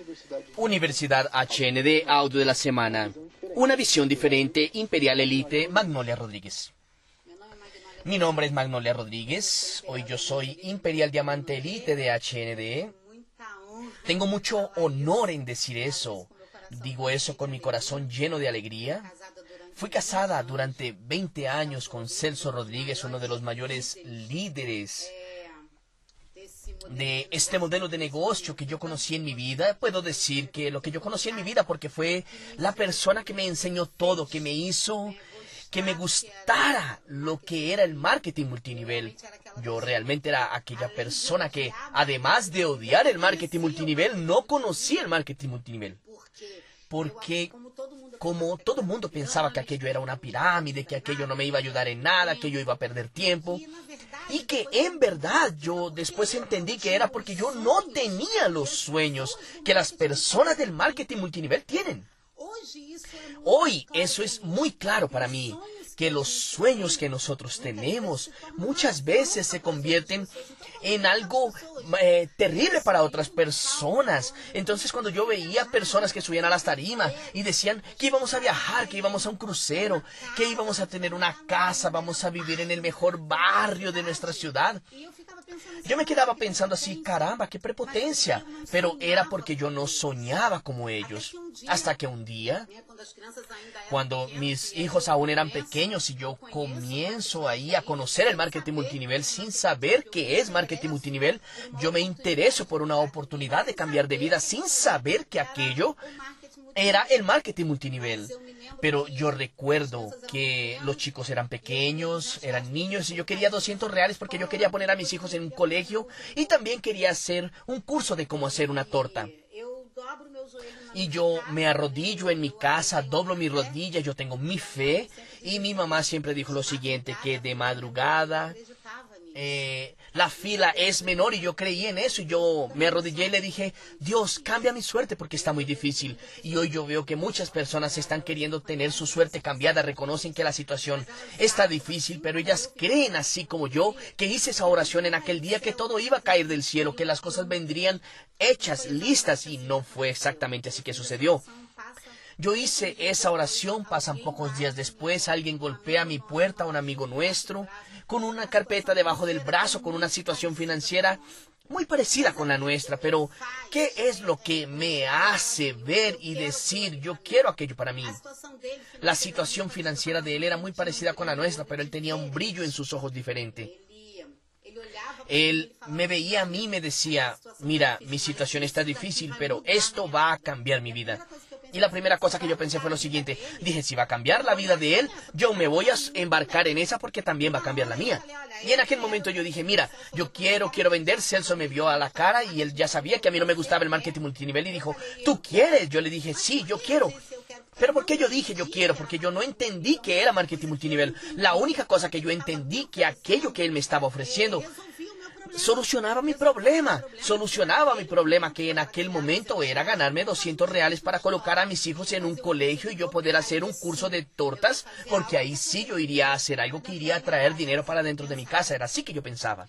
Universidad HND, audio de la semana. Una visión diferente, Imperial Elite, Magnolia Rodríguez. Mi nombre es Magnolia Rodríguez. Hoy yo soy Imperial Diamante Elite de HND. Tengo mucho honor en decir eso. Digo eso con mi corazón lleno de alegría. Fui casada durante 20 años con Celso Rodríguez, uno de los mayores líderes de este modelo de negocio que yo conocí en mi vida. Puedo decir que lo que yo conocí en mi vida porque fue la persona que me enseñó todo, que me hizo que me gustara lo que era el marketing multinivel. Yo realmente era aquella persona que, además de odiar el marketing multinivel, no conocía el marketing multinivel. Porque como todo el mundo pensaba que aquello era una pirámide, que aquello no me iba a ayudar en nada, que yo iba a perder tiempo. Y que en verdad yo después entendí que era porque yo no tenía los sueños que las personas del marketing multinivel tienen. Hoy eso es muy claro para mí, que los sueños que nosotros tenemos muchas veces se convierten en algo terrible para otras personas. Entonces cuando yo veía personas que subían a las tarimas y decían que íbamos a viajar, que íbamos a un crucero, que íbamos a tener una casa, vamos a vivir en el mejor barrio de nuestra ciudad, yo me quedaba pensando así, caramba, qué prepotencia. Pero era porque yo no soñaba como ellos. Hasta que un día, cuando mis hijos aún eran pequeños y yo comienzo ahí a conocer el marketing multinivel sin saber qué es marketing multinivel, yo me intereso por una oportunidad de cambiar de vida sin saber que aquello era el marketing multinivel. Pero yo recuerdo que los chicos eran pequeños, eran niños, y yo quería $200 porque yo quería poner a mis hijos en un colegio y también quería hacer un curso de cómo hacer una torta. Y yo me arrodillo en mi casa, doblo mi rodilla, yo tengo mi fe, y mi mamá siempre dijo lo siguiente, que de madrugada la fila es menor, y yo creí en eso, y yo me arrodillé y le dije, Dios, cambia mi suerte porque está muy difícil. Y hoy yo veo que muchas personas están queriendo tener su suerte cambiada, reconocen que la situación está difícil, pero ellas creen, así como yo, que hice esa oración en aquel día, que todo iba a caer del cielo, que las cosas vendrían hechas, listas, y no fue exactamente así que sucedió. Yo hice esa oración, pasan pocos días después, alguien golpea mi puerta, un amigo nuestro, con una carpeta debajo del brazo, con una situación financiera muy parecida con la nuestra. Pero, ¿qué es lo que me hace ver y decir, yo quiero aquello para mí? La situación financiera de él era muy parecida con la nuestra, pero él tenía un brillo en sus ojos diferente. Él me veía a mí y me decía, mira, mi situación está difícil, pero esto va a cambiar mi vida. Y la primera cosa que yo pensé fue lo siguiente. Dije, si va a cambiar la vida de él, yo me voy a embarcar en esa porque también va a cambiar la mía. Y en aquel momento yo dije, mira, yo quiero vender. Celso me vio a la cara y él ya sabía que a mí no me gustaba el marketing multinivel y dijo, ¿tú quieres? Yo le dije, sí, yo quiero. ¿Pero por qué yo dije yo quiero? Porque yo no entendí que era marketing multinivel. La única cosa que yo entendí, que aquello que él me estaba ofreciendo solucionaba mi problema, que en aquel momento era ganarme $200 para colocar a mis hijos en un colegio y yo poder hacer un curso de tortas, porque ahí sí yo iría a hacer algo que iría a traer dinero para dentro de mi casa. Era así que yo pensaba.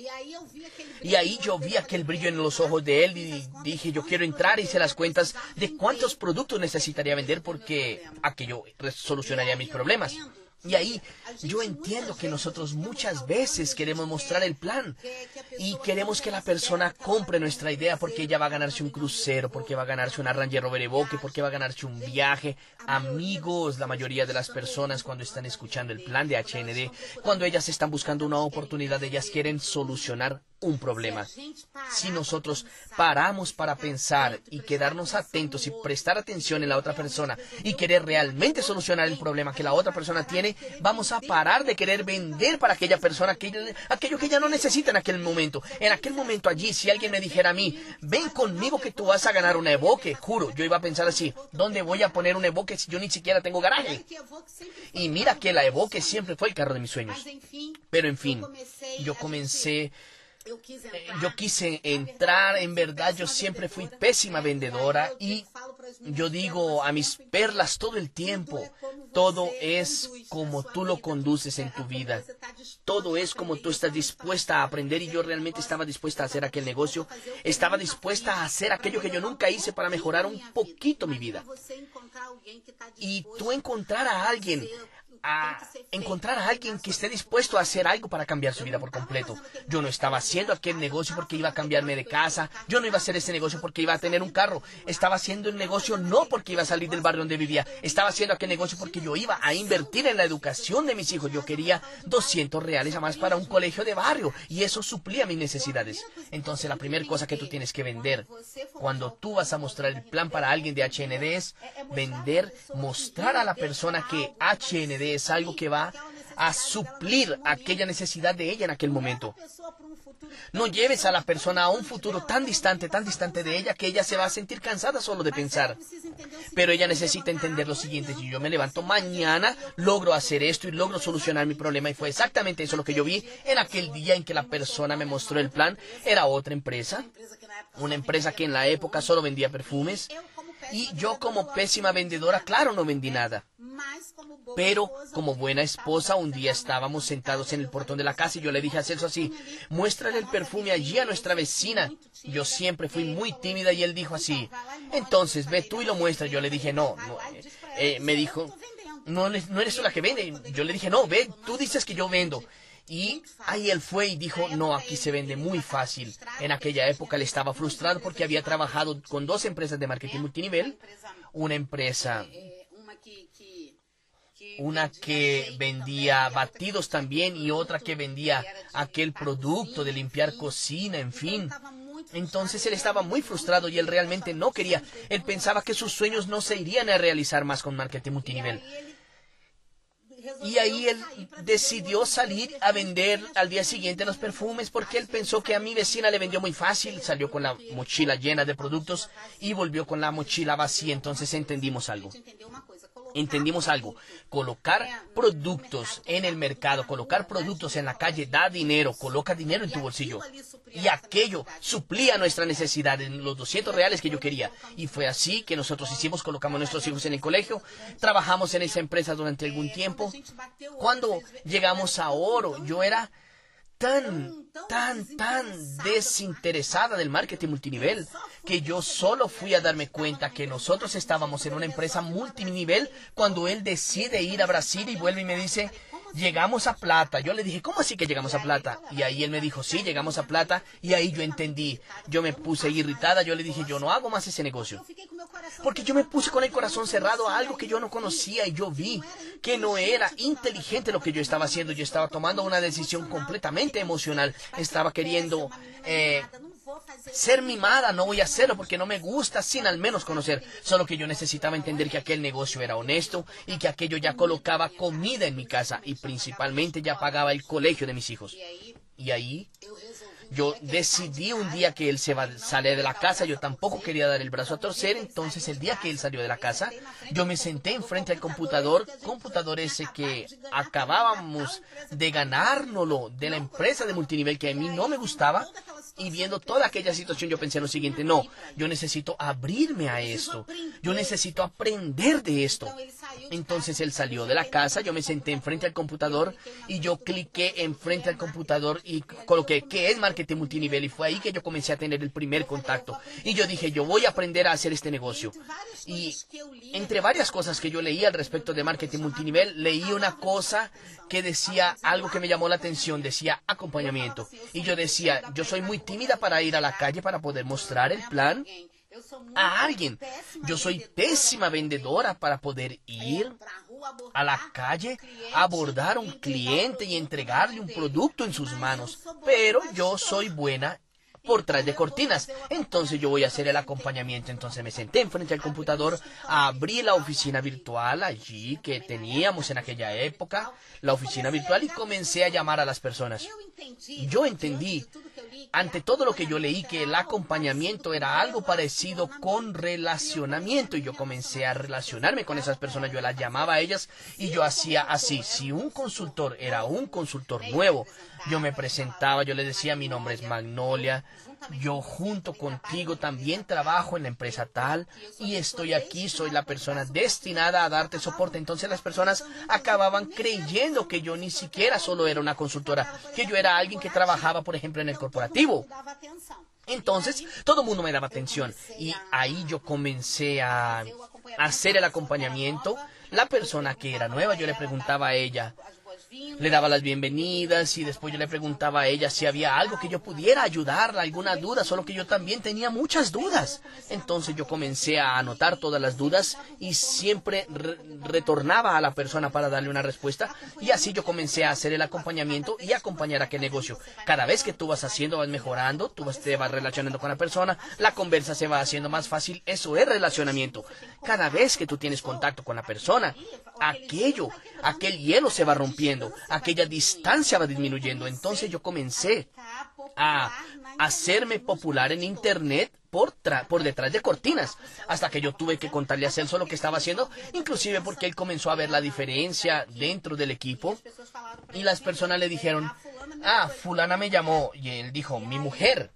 Y ahí yo vi aquel brillo en los ojos de él y dije, yo quiero entrar, hice las cuentas de cuántos productos necesitaría vender porque aquello solucionaría mis problemas. Y ahí yo entiendo que nosotros muchas veces queremos mostrar el plan y queremos que la persona compre nuestra idea porque ella va a ganarse un crucero, porque va a ganarse una Range Rover Evoque, porque va a ganarse un viaje. Amigos, la mayoría de las personas cuando están escuchando el plan de HND, cuando ellas están buscando una oportunidad, ellas quieren solucionar un problema. Si nosotros paramos para pensar y quedarnos atentos y prestar atención en la otra persona y querer realmente solucionar el problema que la otra persona tiene, vamos a parar de querer vender para aquella persona aquello que ella no necesita en aquel momento. En aquel momento allí, si alguien me dijera a mí, ven conmigo que tú vas a ganar una Evoque, juro, yo iba a pensar así, ¿dónde voy a poner una Evoque si yo ni siquiera tengo garaje? Y mira que la Evoque siempre fue el carro de mis sueños. Pero en fin, yo quise entrar, en verdad yo siempre fui pésima vendedora y Yo digo a mis perlas todo el tiempo, todo es como tú lo conduces en tu vida. Todo es como tú estás dispuesta a aprender, y yo realmente estaba dispuesta a hacer aquel negocio. Estaba dispuesta a hacer aquello que yo nunca hice para mejorar un poquito mi vida. Y tú encontrar a alguien que esté dispuesto a hacer algo para cambiar su vida por completo. Yo no estaba haciendo aquel negocio porque iba a cambiarme de casa. Yo no iba a hacer ese negocio porque iba a tener un carro. Estaba haciendo el negocio no porque iba a salir del barrio donde vivía. Estaba haciendo aquel negocio porque yo iba a invertir en la educación de mis hijos. Yo quería $200 a más para un colegio de barrio, y eso suplía mis necesidades. Entonces, la primera cosa que tú tienes que vender cuando tú vas a mostrar el plan para alguien de HND es vender, mostrar a la persona que HND es algo que va a suplir aquella necesidad de ella en aquel momento. No lleves a la persona a un futuro tan distante de ella, que ella se va a sentir cansada solo de pensar. Pero ella necesita entender lo siguiente: si yo me levanto mañana, logro hacer esto y logro solucionar mi problema. Y fue exactamente eso lo que yo vi en aquel día en que la persona me mostró el plan. Era otra empresa, una empresa que en la época solo vendía perfumes. Y yo, como pésima vendedora, claro, no vendí nada. Pero como buena esposa, un día estábamos sentados en el portón de la casa y yo le dije a Celso así: muéstrale el perfume allí a nuestra vecina. Yo siempre fui muy tímida y él dijo así: entonces ve tú y lo muestras. Yo le dije no. Me dijo: no eres tú la que vende. Yo le dije: no, ve, tú dices que yo vendo. Y ahí él fue y dijo: no, aquí se vende muy fácil. En aquella época él estaba frustrado porque había trabajado con 2 empresas de marketing multinivel. Una que vendía batidos también, y otra que vendía aquel producto de limpiar cocina, en fin. Entonces él estaba muy frustrado y él realmente no quería. Él pensaba que sus sueños no se irían a realizar más con marketing multinivel. Y ahí él decidió salir a vender al día siguiente los perfumes, porque él pensó que a mi vecina le vendió muy fácil. Salió con la mochila llena de productos y volvió con la mochila vacía. Entonces entendimos algo. Colocar productos en el mercado, colocar productos en la calle da dinero, coloca dinero en tu bolsillo. Y aquello suplía nuestra necesidad en los $200 que yo quería. Y fue así que nosotros colocamos a nuestros hijos en el colegio, trabajamos en esa empresa durante algún tiempo. Cuando llegamos a Oro, yo era tan desinteresada del marketing multinivel que yo solo fui a darme cuenta que nosotros estábamos en una empresa multinivel cuando él decide ir a Brasil y vuelve y me dice: llegamos a plata. Yo le dije: ¿cómo así que llegamos a plata? Y ahí él me dijo: sí, llegamos a plata. Y ahí yo entendí. Yo me puse irritada. Yo le dije: yo no hago más ese negocio. Porque yo me puse con el corazón cerrado a algo que yo no conocía, y yo vi que no era inteligente lo que yo estaba haciendo. Yo estaba tomando una decisión completamente emocional. Estaba queriendo ser mimada. No voy a hacerlo porque no me gusta sin al menos conocer. Solo que yo necesitaba entender que aquel negocio era honesto y que aquello ya colocaba comida en mi casa y principalmente ya pagaba el colegio de mis hijos. Y ahí yo decidí un día que él sale de la casa. Yo tampoco quería dar el brazo a torcer. Entonces el día que él salió de la casa, yo me senté enfrente al computador ese que acabábamos de ganárnoslo de la empresa de multinivel que a mí no me gustaba. Y viendo toda aquella situación, yo pensé lo siguiente: no, yo necesito abrirme a esto. Yo necesito aprender de esto. Entonces él salió de la casa, yo me senté enfrente al computador y yo cliqué enfrente al computador y coloqué ¿qué es marketing multinivel? Y fue ahí que yo comencé a tener el primer contacto. Y yo dije: yo voy a aprender a hacer este negocio. Y entre varias cosas que yo leí al respecto de marketing multinivel, leí una cosa que decía algo que me llamó la atención. Decía acompañamiento. Y yo decía: yo soy muy tímida para ir a la calle para poder mostrar el plan a alguien. Yo soy pésima vendedora para poder ir a la calle, abordar a un cliente y entregarle un producto en sus manos. Pero yo soy buena por tras de cortinas. Entonces yo voy a hacer el acompañamiento. Entonces me senté enfrente al computador, abrí la oficina virtual allí que teníamos en aquella época, la oficina virtual, y comencé a llamar a las personas. Yo entendí, ante todo lo que yo leí, que el acompañamiento era algo parecido con relacionamiento, y yo comencé a relacionarme con esas personas. Yo las llamaba a ellas y yo hacía así. Si un consultor era un consultor nuevo, yo me presentaba, yo le decía: mi nombre es Magnolia, yo junto contigo también trabajo en la empresa tal y estoy aquí, soy la persona destinada a darte soporte. Entonces las personas acababan creyendo que yo ni siquiera solo era una consultora, que yo era alguien que trabajaba, por ejemplo, en el corporativo. Entonces, todo el mundo me daba atención y ahí yo comencé a hacer el acompañamiento. La persona que era nueva, yo le preguntaba a ella, le daba las bienvenidas y después yo le preguntaba a ella si había algo que yo pudiera ayudarla, alguna duda, solo que yo también tenía muchas dudas. Entonces yo comencé a anotar todas las dudas y siempre retornaba a la persona para darle una respuesta y así yo comencé a hacer el acompañamiento y acompañar aquel negocio. Cada vez que tú vas haciendo, vas mejorando, te vas relacionando con la persona, la conversa se va haciendo más fácil, eso es relacionamiento. Cada vez que tú tienes contacto con la persona, aquel hielo se va rompiendo, aquella distancia va disminuyendo. Entonces yo comencé a hacerme popular en internet por detrás de cortinas, hasta que yo tuve que contarle a Celso lo que estaba haciendo, inclusive porque él comenzó a ver la diferencia dentro del equipo y las personas le dijeron, fulana me llamó, y él dijo, mi mujer.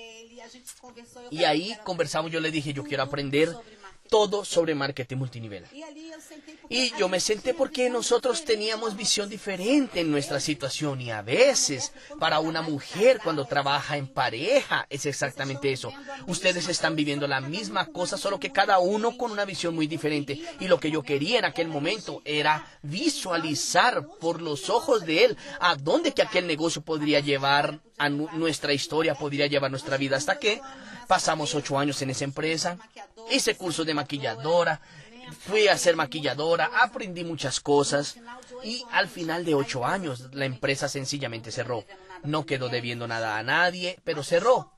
Y ahí conversamos, yo le dije, yo quiero aprender todo sobre marketing multinivel. Y yo me senté porque nosotros teníamos visión diferente en nuestra situación y a veces para una mujer cuando trabaja en pareja es exactamente eso. Ustedes están viviendo la misma cosa, solo que cada uno con una visión muy diferente. Y lo que yo quería en aquel momento era visualizar por los ojos de él a dónde que aquel negocio podría llevar a nuestra historia, podría llevar nuestra vida, hasta que pasamos 8 años en esa empresa, hice curso de maquilladora, fui a ser maquilladora, aprendí muchas cosas y al final de 8 años la empresa sencillamente cerró. No quedó debiendo nada a nadie, pero cerró.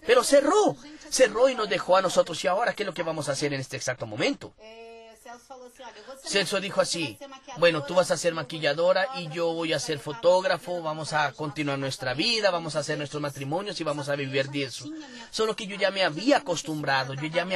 Cerró y nos dejó a nosotros. ¿Y ahora qué es lo que vamos a hacer en este exacto momento? Celso dijo así, bueno, tú vas a ser maquilladora y yo voy a ser fotógrafo, vamos a continuar nuestra vida, vamos a hacer nuestros matrimonios y vamos a vivir de eso. Solo que yo ya me había acostumbrado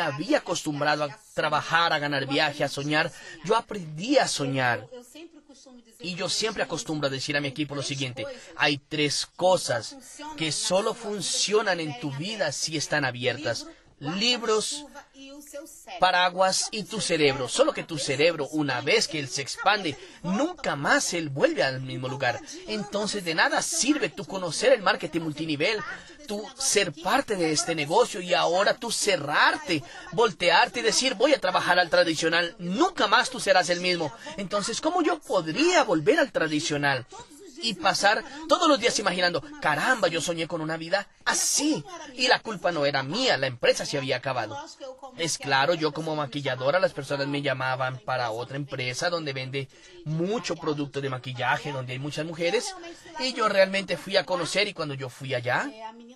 a trabajar, a ganar viaje, a soñar. Yo aprendí a soñar. Y yo siempre acostumbro a decir a mi equipo lo siguiente, hay 3 cosas que solo funcionan en tu vida si están abiertas. Libros, paraguas y tu cerebro. Solo que tu cerebro, una vez que él se expande, nunca más él vuelve al mismo lugar. Entonces de nada sirve tú conocer el marketing multinivel, tú ser parte de este negocio y ahora tú cerrarte, voltearte y decir voy a trabajar al tradicional. Nunca más tú serás el mismo. Entonces, ¿cómo yo podría volver al tradicional? Y pasar todos los días imaginando, caramba, yo soñé con una vida así. Y la culpa no era mía, la empresa se había acabado. Es claro, yo como maquilladora, las personas me llamaban para otra empresa donde vende mucho producto de maquillaje, donde hay muchas mujeres. Y yo realmente fui a conocer y cuando yo fui allá,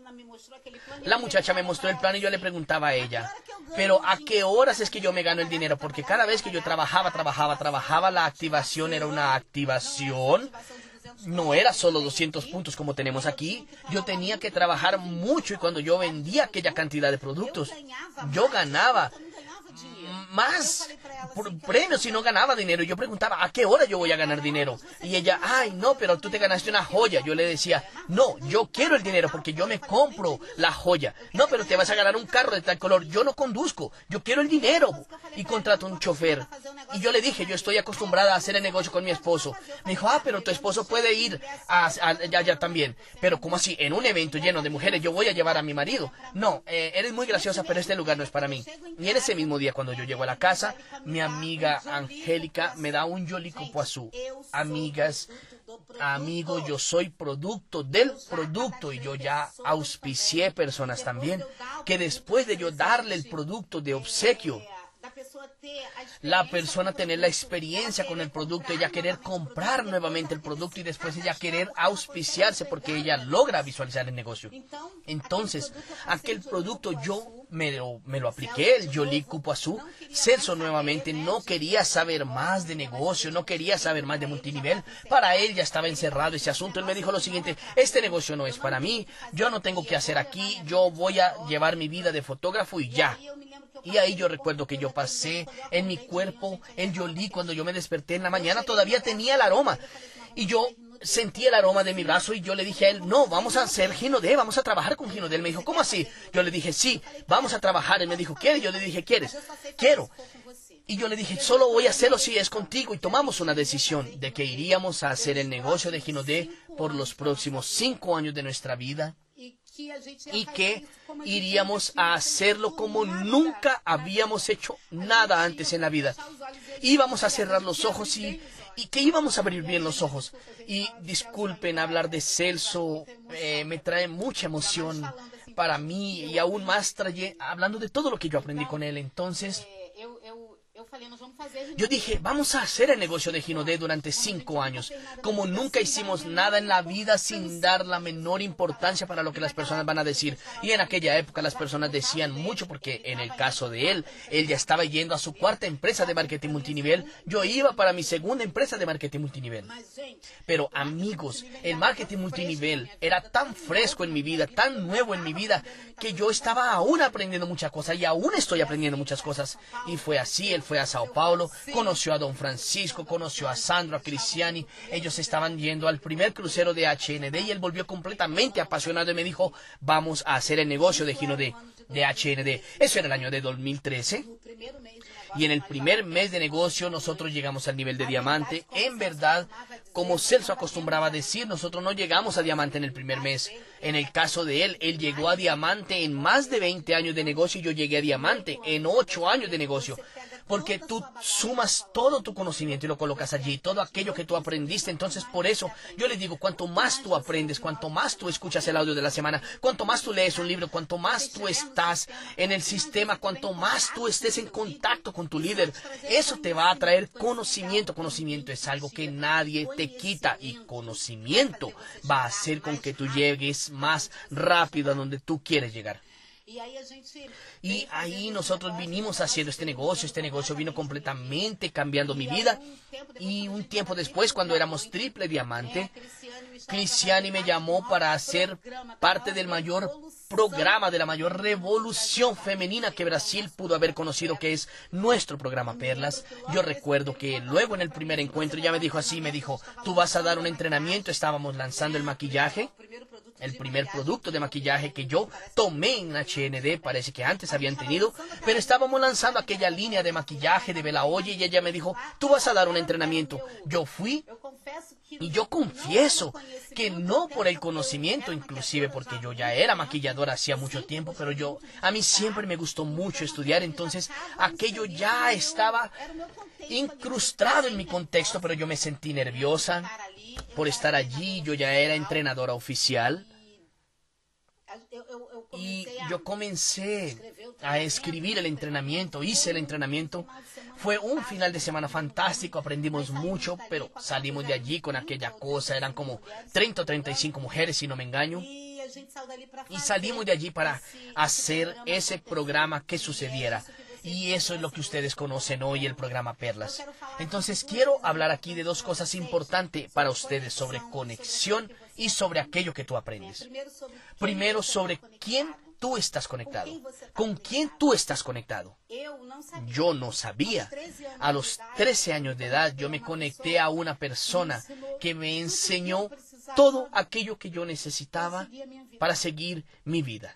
la muchacha me mostró el plan y yo le preguntaba a ella, pero ¿a qué horas es que yo me gano el dinero? Porque cada vez que yo trabajaba, la activación era una activación. No era solo 200 puntos como tenemos aquí. Yo tenía que trabajar mucho y cuando yo vendía aquella cantidad de productos, yo ganaba más premios y no ganaba dinero. Yo preguntaba, ¿a qué hora yo voy a ganar dinero? Y ella, ay, no, pero tú te ganaste una joya. Yo le decía, no, yo quiero el dinero porque yo me compro la joya. No, pero te vas a ganar un carro de tal color. Yo no conduzco, yo quiero el dinero. Y contrato un chofer. Y yo le dije, yo estoy acostumbrada a hacer el negocio con mi esposo. Me dijo, pero tu esposo puede ir allá también. Pero ¿cómo así? En un evento lleno de mujeres yo voy a llevar a mi marido. No, eres muy graciosa, pero este lugar no es para mí. Y en ese mismo día cuando yo llego a la casa, mi amiga Angélica me da un Yolicupuazú. Amigos, yo soy producto del producto y yo ya auspicié personas también que después de yo darle el producto de obsequio, la persona tener la experiencia con el producto, ella querer comprar nuevamente el producto y después ella querer auspiciarse porque ella logra visualizar el negocio. Entonces, aquel producto yo me lo apliqué, el Yolicupuazú. Celso nuevamente no quería saber más de negocio, no quería saber más de multinivel. Para él ya estaba encerrado ese asunto. Él me dijo lo siguiente, este negocio no es para mí, yo no tengo que hacer aquí, yo voy a llevar mi vida de fotógrafo y ya. Y ahí yo recuerdo que yo pasé en mi cuerpo el Yolí. Cuando yo me desperté en la mañana todavía tenía el aroma. Y yo sentí el aroma de mi brazo y yo le dije a él, no, vamos a hacer Gino D, vamos a trabajar con Gino D. Él me dijo, ¿cómo así? Yo le dije, sí, vamos a trabajar. Él me dijo, ¿quieres? Yo le dije, ¿quieres? Quiero. Y yo le dije, solo voy a hacerlo si es contigo. Y tomamos una decisión de que iríamos a hacer el negocio de Gino D por los próximos 5 años de nuestra vida. Y que iríamos a hacerlo como nunca habíamos hecho nada antes en la vida. Íbamos a cerrar los ojos y que íbamos a abrir bien los ojos. Y disculpen, hablar de Celso me trae mucha emoción para mí y aún más hablando de todo lo que yo aprendí con él. Entonces, yo dije, vamos a hacer el negocio de Gino D durante 5 años. Como nunca hicimos nada en la vida sin dar la menor importancia para lo que las personas van a decir. Y en aquella época las personas decían mucho porque en el caso de él ya estaba yendo a su 4ª empresa de marketing multinivel. Yo iba para mi 2ª empresa de marketing multinivel. Pero amigos, el marketing multinivel era tan fresco en mi vida, tan nuevo en mi vida, que yo estaba aún aprendiendo muchas cosas y aún estoy aprendiendo muchas cosas. Y fue así, él fue a Sao Paulo, conoció a Don Francisco, conoció a Sandro, a Cristiani. Ellos estaban yendo al primer crucero de HND y él volvió completamente apasionado y me dijo, vamos a hacer el negocio de Gino D, de HND. Eso era el año de 2013. Y en el primer mes de negocio nosotros llegamos al nivel de diamante. En verdad, como Celso acostumbraba a decir, nosotros no llegamos a diamante en el primer mes. En el caso de él llegó a diamante en más de 20 años de negocio y yo llegué a diamante en 8 años de negocio. Porque tú sumas todo tu conocimiento y lo colocas allí, todo aquello que tú aprendiste. Entonces, por eso, yo les digo, cuanto más tú aprendes, cuanto más tú escuchas el audio de la semana, cuanto más tú lees un libro, cuanto más tú estás en el sistema, cuanto más tú estés en contacto con tu líder, eso te va a traer conocimiento. Conocimiento es algo que nadie te quita y conocimiento va a hacer con que tú llegues más rápido a donde tú quieres llegar. Y ahí nosotros vinimos haciendo este negocio vino completamente cambiando mi vida. Y un tiempo después, cuando éramos triple diamante, Cristiani me llamó para hacer parte del mayor programa, de la mayor revolución femenina que Brasil pudo haber conocido, que es nuestro programa Perlas. Yo recuerdo que luego en el primer encuentro ya me dijo así, me dijo, tú vas a dar un entrenamiento. Estábamos lanzando el maquillaje, el primer producto de maquillaje que yo tomé en HND, parece que antes habían tenido, pero estábamos lanzando aquella línea de maquillaje de Bella Oye y ella me dijo, tú vas a dar un entrenamiento. Yo fui y yo confieso que no por el conocimiento, inclusive porque yo ya era maquilladora hacía mucho tiempo, pero a mí siempre me gustó mucho estudiar, entonces aquello ya estaba incrustado en mi contexto, pero yo me sentí nerviosa por estar allí. Yo ya era entrenadora oficial y yo comencé a escribir el entrenamiento, hice el entrenamiento. Fue un final de semana fantástico, aprendimos mucho, pero salimos de allí con aquella cosa, eran como 30 o 35 mujeres, si no me engaño. Y salimos de allí para hacer ese programa que sucediera. Y eso es lo que ustedes conocen hoy, el programa Perlas. Entonces quiero hablar aquí de 2 cosas importantes para ustedes sobre conexión y sobre aquello que tú aprendes. Primero, sobre quién tú estás conectado. ¿Con quién tú estás conectado? Yo no sabía. A los 13 años de edad yo me conecté a una persona que me enseñó todo aquello que yo necesitaba para seguir mi vida.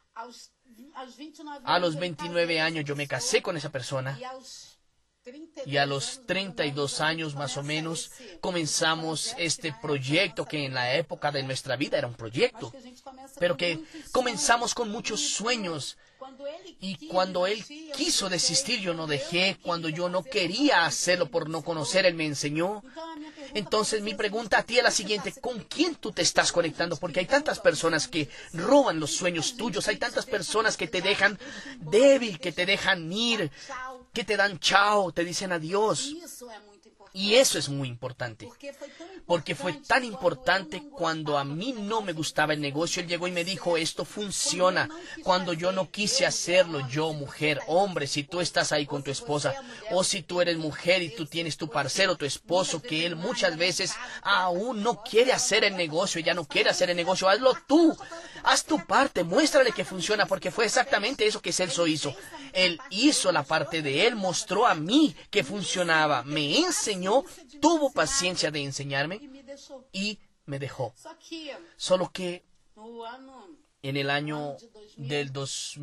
A los 29 años yo me casé con esa persona y a los 32 años más o menos comenzamos este proyecto que en la época de nuestra vida era un proyecto, pero que comenzamos con muchos sueños. Y cuando él quiso desistir, yo no dejé. Cuando yo no quería hacerlo por no conocer, él me enseñó. Entonces mi pregunta a ti es la siguiente: ¿con quién tú te estás conectando? Porque hay tantas personas que roban los sueños tuyos, hay tantas personas que te dejan débil, que te dejan ir, que te dan chao, te dicen adiós. Y eso es muy importante, porque fue tan importante cuando a mí no me gustaba el negocio. Él llegó y me dijo, esto funciona. Cuando yo no quise hacerlo, yo, mujer, hombre, si tú estás ahí con tu esposa, o si tú eres mujer y tú tienes tu parcero, tu esposo, que él muchas veces aún no quiere hacer el negocio, ya no quiere hacer el negocio, hazlo tú. Haz tu parte, muéstrale que funciona, porque fue exactamente eso que Celso hizo. Él hizo la parte de él, mostró a mí que funcionaba, me enseñó, tuvo paciencia de enseñarme y me dejó. Só que Solo que no ano en el año del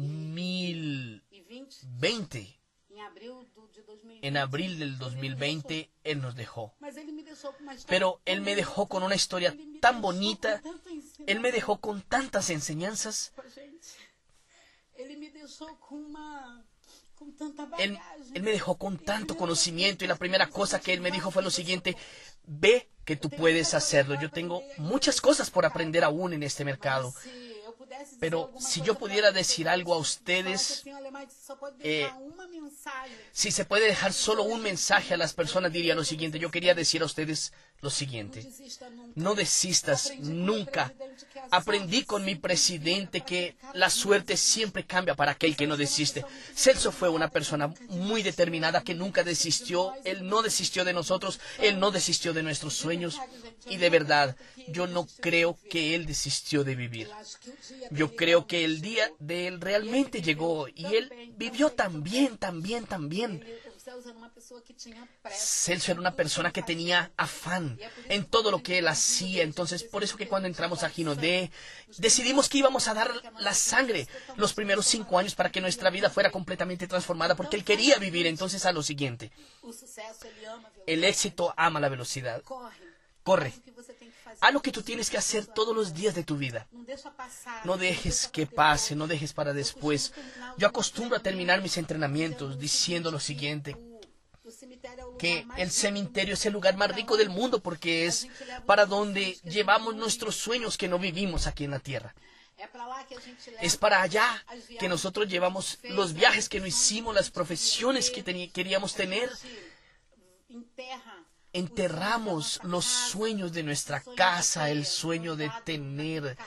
2020, e 20, em abril de 2020, en abril del 2020, Él nos dejó. mas ele me deixou com uma história Pero tão Él me bonita, dejó con una historia ele me tan deixou bonita, com tanto Él me dejó con tantas enseñanzas, gente. Ele me deixou com tanta Él, bagagem. Él me dejó con tanto conocimiento y la primera cosa que Él me dijo fue lo siguiente: ve que tú puedes hacerlo. Yo tengo muchas cosas por aprender aún en este mercado. Se eu pudesse dizer Pero alguma si coisa yo pra pudiera vocês, decir algo a falasse ustedes, assim, olha, Mike, você só pode deixar uma mensagem. si se puede dejar solo un mensaje a las personas, diría lo siguiente. Yo quería decir a ustedes lo Não siguiente: desista nunca. no desistas Aprendi com meu nunca. presidente que a Aprendí sorte con mi sempre presidente vira que pra la quem suerte desiste. siempre cambia para aquel que no desiste. Celso fue una persona muy determinada que nunca desistió. Él no desistió de nosotros, él no desistió de nuestros sueños. Y de verdad, yo no creo que él desistió de vivir. Eu acho que o dia Yo dele creo que el día de él realmente llegó y él vivió tan bien. O Celso era uma pessoa que tinha pressa. Celso era una persona que tenía afán en todo lo que él hacía. Entonces, por eso que cuando entramos a Ginodé, decidimos que íbamos a dar la sangre los primeros 5 años para que nuestra vida fuera completamente transformada, porque él quería vivir. Entonces, a lo siguiente: O sucesso, ele ama a velocidade. el éxito ama la velocidad. Corre. Corre. Faz o que você tem que fazer. Haz lo que tú tienes que hacer todos los días de tu vida. Não deixa passar. No dejes que pase, no dejes para después. Yo acostumbro a terminar mis entrenamientos diciendo lo siguiente: O cemitério é o lugar que mais el cementerio es el lugar más rico del mundo porque es para donde llevamos nuestros sueños que no vivimos aquí en la tierra. É pra lá que a gente leva Es para allá que nosotros llevamos los viajes que no hicimos, las profesiones que queríamos tener. enterra Enterramos los sueños de nuestra casa, el sueño de tener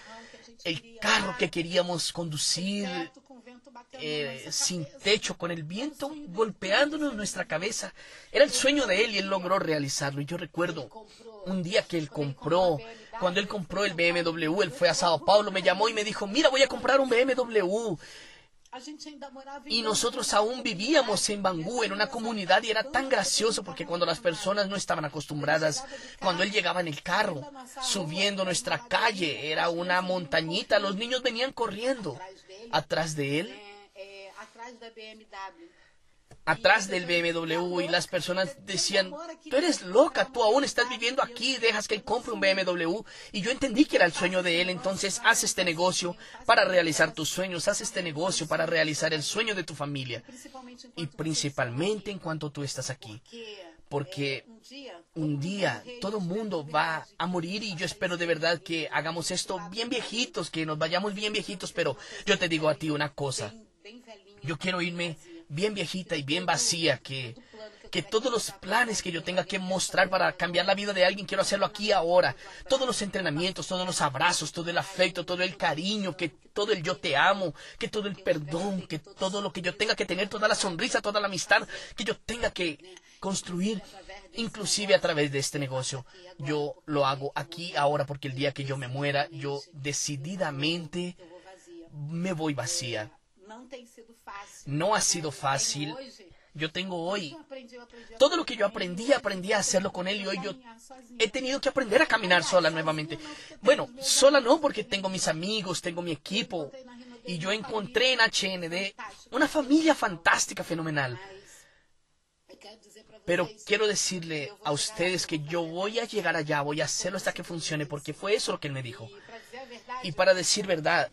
el carro que queríamos conducir, teto com vento batendo na nossa sin cabeça. techo, con el viento golpeándonos en nuestra cabeza. Era el sueño de él y él logró realizarlo. Y yo recuerdo un día que él compró, cuando él compró el BMW, él fue a Sao Paulo, me llamó y me dijo: mira, voy a comprar un BMW. A gente ainda morava em Y nosotros aún vivíamos en Bangú, en una comunidad, y era tan gracioso porque cuando las personas no estaban acostumbradas, cuando él llegaba en el carro, subiendo nuestra calle, era una montañita, los niños venían corriendo atrás de él, atrás da BMW. atrás del BMW, y las personas decían: tú eres loca, tú aún estás viviendo aquí, dejas que él compre un BMW. Y yo entendí que era el sueño de él. Entonces haz este negocio para realizar tus sueños, haz este negocio para realizar el sueño de tu familia, y principalmente en cuanto tú estás aquí, porque un día todo el mundo va a morir, y yo espero de verdad que hagamos esto bien viejitos, que nos vayamos bien viejitos. Pero yo te digo a ti una cosa: bem velhinha. yo quiero irme bien viejita y bien vacía, que todos los planes que yo tenga que mostrar para cambiar la vida de alguien, quiero hacerlo aquí ahora. Todos los entrenamientos, todos los abrazos, todo el afecto, todo el cariño, que todo el yo te amo, que todo el perdón, que todo lo que yo tenga que tener, toda la sonrisa, toda la amistad que yo tenga que construir, inclusive a través de este negocio. Yo lo hago aquí ahora, porque el día que yo me muera, yo decididamente Eu vou vazia. me voy vacía. Não tem sido fácil. No ha sido fácil. Hoje, Yo tengo hoy eu aprendi a todo lo que yo aprendí a hacerlo con él, y hoy yo he tenido que aprender a caminar sola nuevamente. Bueno, sola no, porque tengo mis amigos, tengo mi equipo, y yo encontré en HND una familia fantástica, fenomenal. Mas eu quero dizer pra Pero vocês quiero decirle a ustedes que yo voy a llegar allá, voy a hacerlo hasta que funcione, porque fue eso lo que él me dijo. que, pra dizer a verdade, Y para decir verdad,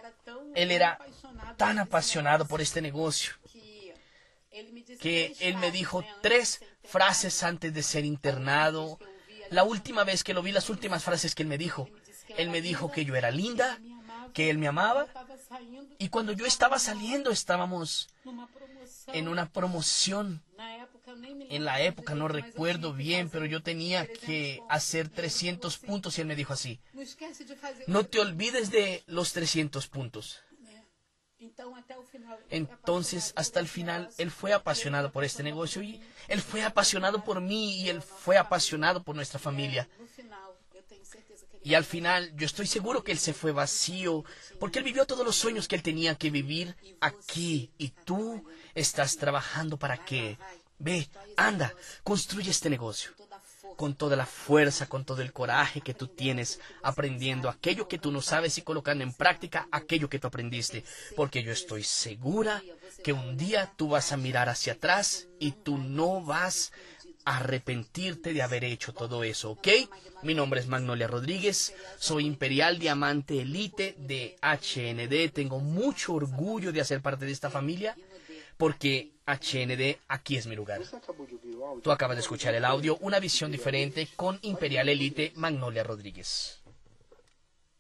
ele era tan apasionado por este negocio, que él me dijo 3 frases antes de ser internado. La última vez que lo vi, las últimas frases que él me dijo que yo era linda, que él me amaba, y cuando yo estaba saliendo estábamos en una promoción. En la época no recuerdo bien, pero yo tenía que hacer 300 puntos, y él me dijo así: no te olvides de los 300 puntos. Entonces, hasta el final, él fue apasionado por este negocio, y él fue apasionado por mí, y él fue apasionado por nuestra familia. Y al final, yo estoy seguro que él se fue vacío, porque él vivió todos los sueños que él tenía que vivir aquí. Y tú estás trabajando para qué. Ve, anda, construye este negocio. con toda la fuerza, con todo el coraje que tú tienes, aprendiendo aquello que tú no sabes y colocando en práctica aquello que tú aprendiste. Porque yo estoy segura que un día tú vas a mirar hacia atrás y tú no vas a arrepentirte de haber hecho todo eso, ¿ok? Mi nombre es Magnolia Rodríguez, soy Imperial Diamante Elite de HND. Tengo mucho orgullo de hacer parte de esta familia, porque HND, aquí es mi lugar. Tú acabas de escuchar el audio, una visión diferente con Imperial Elite Magnolia Rodríguez.